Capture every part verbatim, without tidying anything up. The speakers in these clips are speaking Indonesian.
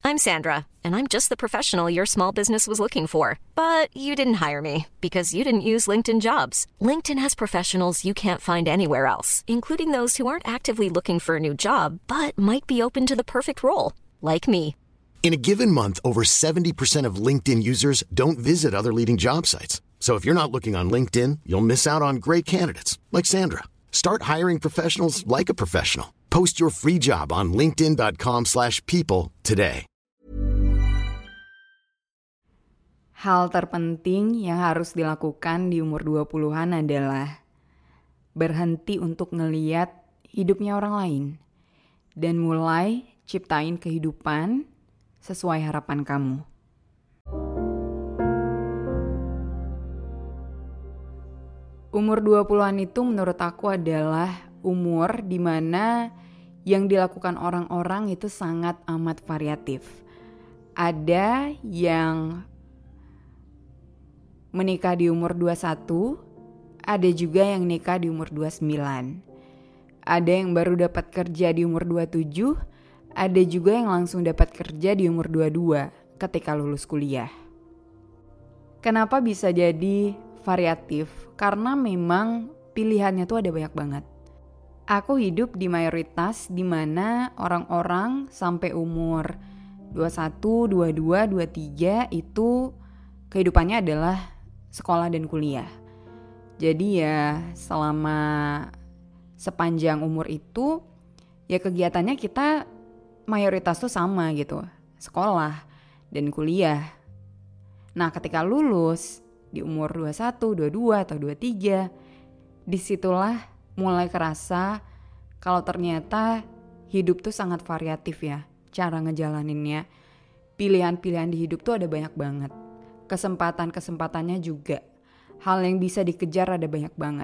I'm Sandra, and I'm just the professional your small business was looking for. But you didn't hire me because you didn't use LinkedIn Jobs. LinkedIn has professionals you can't find anywhere else, including those who aren't actively looking for a new job, but might be open to the perfect role, like me. In a given month, over seventy percent of LinkedIn users don't visit other leading job sites. So if you're not looking on LinkedIn, you'll miss out on great candidates like Sandra. Start hiring professionals like a professional. Post your free job on linkedin dot com slash people today. Hal terpenting yang harus dilakukan di umur dua puluhan adalah berhenti untuk ngeliat hidupnya orang lain dan mulai ciptain kehidupan sesuai harapan kamu. Umur dua puluhan itu menurut aku adalah umur di mana yang dilakukan orang-orang itu sangat amat variatif. Ada yang menikah di umur dua puluh satu, ada juga yang nikah di umur dua puluh sembilan. Ada yang baru dapat kerja di umur dua puluh tujuh, ada juga yang langsung dapat kerja di umur dua puluh dua ketika lulus kuliah. Kenapa bisa jadi variatif? Karena memang pilihannya tuh ada banyak banget. Aku hidup di mayoritas di mana orang-orang sampai umur dua puluh satu, dua puluh dua, dua puluh tiga itu kehidupannya adalah sekolah dan kuliah. Jadi ya selama sepanjang umur itu ya kegiatannya kita mayoritas tuh sama gitu, sekolah dan kuliah. Nah ketika lulus di umur dua puluh satu, dua puluh dua atau dua puluh tiga, disitulah mulai kerasa kalau ternyata hidup tuh sangat variatif ya cara ngejalaninnya. Pilihan-pilihan di hidup tuh ada banyak banget. Kesempatan-kesempatannya juga. Hal yang bisa dikejar ada banyak banget.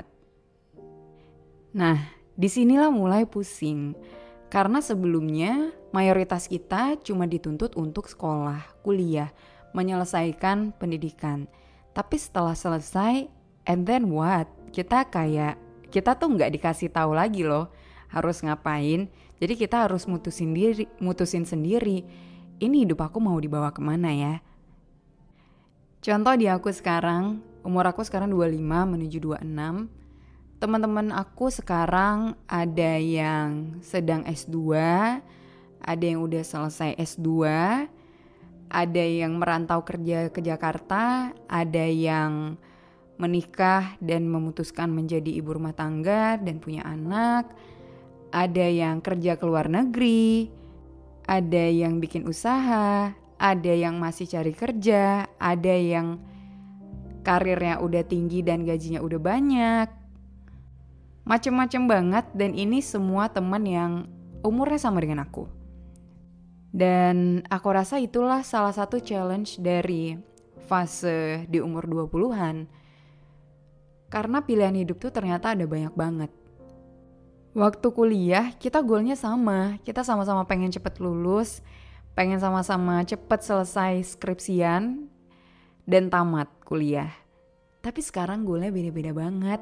Nah, disinilah mulai pusing. Karena sebelumnya mayoritas kita cuma dituntut untuk sekolah, kuliah, menyelesaikan pendidikan. Tapi setelah selesai, and then what? Kita kayak, kita tuh gak dikasih tahu lagi loh harus ngapain. Jadi kita harus mutusin diri, mutusin sendiri. Ini hidup aku mau dibawa kemana ya? Contoh di aku sekarang, umur aku sekarang dua puluh lima menuju dua puluh enam. Teman-teman aku sekarang ada yang sedang S dua, ada yang udah selesai S dua, ada yang merantau kerja ke Jakarta, ada yang menikah dan memutuskan menjadi ibu rumah tangga dan punya anak, ada yang kerja ke luar negeri, ada yang bikin usaha, ada yang masih cari kerja, ada yang karirnya udah tinggi dan gajinya udah banyak. Macem-macem banget, dan ini semua teman yang umurnya sama dengan aku. Dan aku rasa itulah salah satu challenge dari fase di umur dua puluhan. Karena pilihan hidup tuh ternyata ada banyak banget. Waktu kuliah kita goalnya sama, kita sama-sama pengen cepet lulus, pengen sama-sama cepet selesai skripsian dan tamat kuliah. Tapi sekarang goalnya beda-beda banget.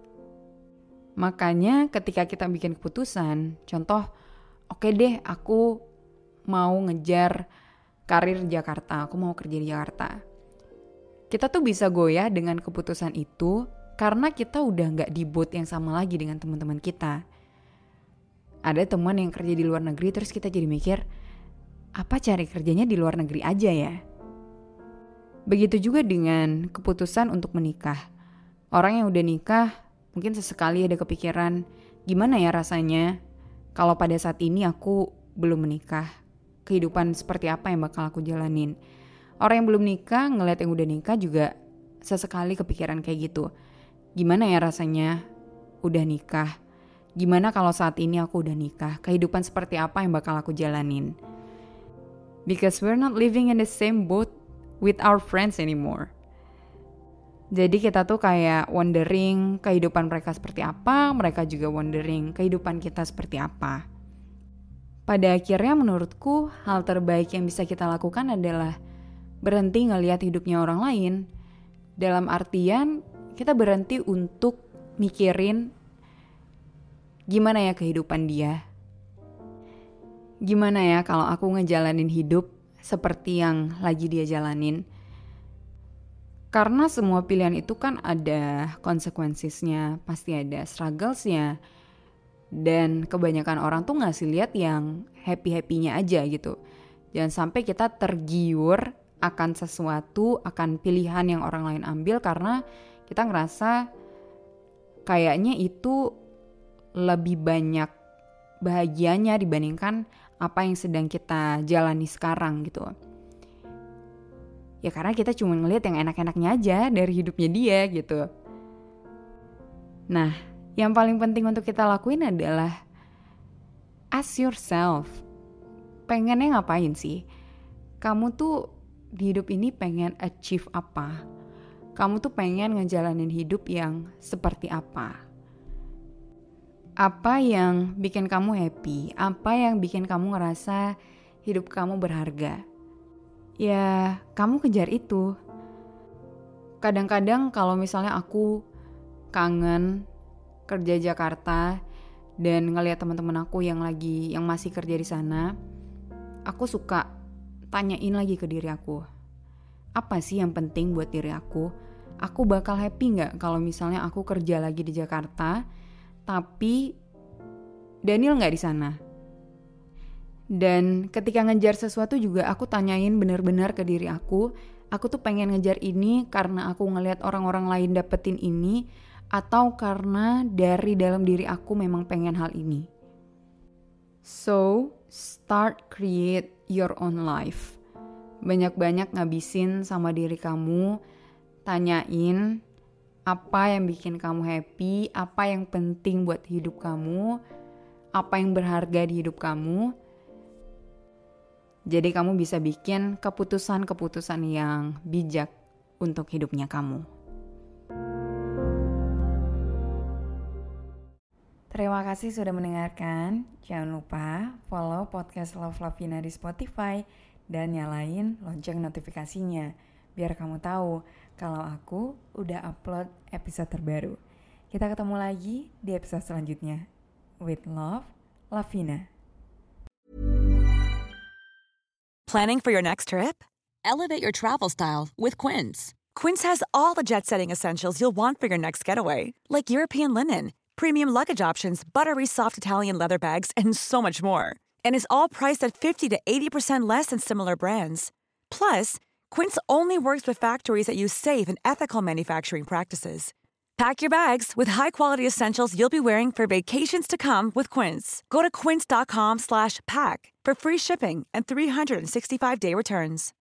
Makanya ketika kita bikin keputusan, contoh, oke okay deh aku mau ngejar karir di Jakarta, aku mau kerja di Jakarta. Kita tuh bisa goyah dengan keputusan itu karena kita udah gak di boat yang sama lagi dengan teman-teman kita. Ada teman yang kerja di luar negeri, terus kita jadi mikir, apa cari kerjanya di luar negeri aja ya? Begitu juga dengan keputusan untuk menikah. Orang yang udah nikah mungkin sesekali ada kepikiran, gimana ya rasanya kalau pada saat ini aku belum menikah? Kehidupan seperti apa yang bakal aku jalanin? Orang yang belum nikah ngeliat yang udah nikah juga sesekali kepikiran kayak gitu. Gimana ya rasanya udah nikah? Gimana kalau saat ini aku udah nikah? Kehidupan seperti apa yang bakal aku jalanin? Because we're not living in the same boat with our friends anymore. Jadi kita tuh kayak wondering kehidupan mereka seperti apa, mereka juga wondering kehidupan kita seperti apa. Pada akhirnya menurutku hal terbaik yang bisa kita lakukan adalah berhenti ngelihat hidupnya orang lain. Dalam artian kita berhenti untuk mikirin gimana ya kehidupan dia. Gimana ya kalau aku ngejalanin hidup seperti yang lagi dia jalanin. Karena semua pilihan itu kan ada konsekuensinya, pasti ada strugglesnya. Dan kebanyakan orang tuh ngasih lihat yang happy-happynya aja gitu. Jangan sampai kita tergiur akan sesuatu, akan pilihan yang orang lain ambil karena kita ngerasa kayaknya itu lebih banyak bahagianya dibandingkan apa yang sedang kita jalani sekarang gitu. Ya karena kita cuma ngelihat yang enak-enaknya aja dari hidupnya dia gitu. Nah, yang paling penting untuk kita lakuin adalah ask yourself, pengennya ngapain sih? Kamu tuh di hidup ini pengen achieve apa? Kamu tuh pengen ngejalanin hidup yang seperti apa? Apa yang bikin kamu happy? Apa yang bikin kamu ngerasa hidup kamu berharga? Ya, kamu kejar itu. Kadang-kadang kalau misalnya aku kangen kerja Jakarta dan ngelihat teman-teman aku yang lagi yang masih kerja di sana, aku suka tanyain lagi ke diri aku, apa sih yang penting buat diri aku? Aku bakal happy nggak kalau misalnya aku kerja lagi di Jakarta, tapi Daniel nggak di sana? Dan ketika ngejar sesuatu juga aku tanyain benar-benar ke diri aku, aku tuh pengen ngejar ini karena aku ngelihat orang-orang lain dapetin ini, atau karena dari dalam diri aku memang pengen hal ini. So, start create your own life. Banyak-banyak ngabisin sama diri kamu, tanyain apa yang bikin kamu happy, apa yang penting buat hidup kamu, apa yang berharga di hidup kamu. Jadi kamu bisa bikin keputusan-keputusan yang bijak untuk hidupnya kamu. Terima kasih sudah mendengarkan. Jangan lupa follow podcast Love Lavina di Spotify dan nyalain lonceng notifikasinya biar kamu tahu kalau aku udah upload episode terbaru. Kita ketemu lagi di episode selanjutnya. With love, Lavina. Planning for your next trip? Elevate your travel style with Quince. Quince has all the jet-setting essentials you'll want for your next getaway, like European linen, premium luggage options, buttery soft Italian leather bags, and so much more. And is all priced at fifty to eighty percent less than similar brands. Plus, Quince only works with factories that use safe and ethical manufacturing practices. Pack your bags with high-quality essentials you'll be wearing for vacations to come with Quince. Go to quince.com slash pack for free shipping and three sixty-five day returns.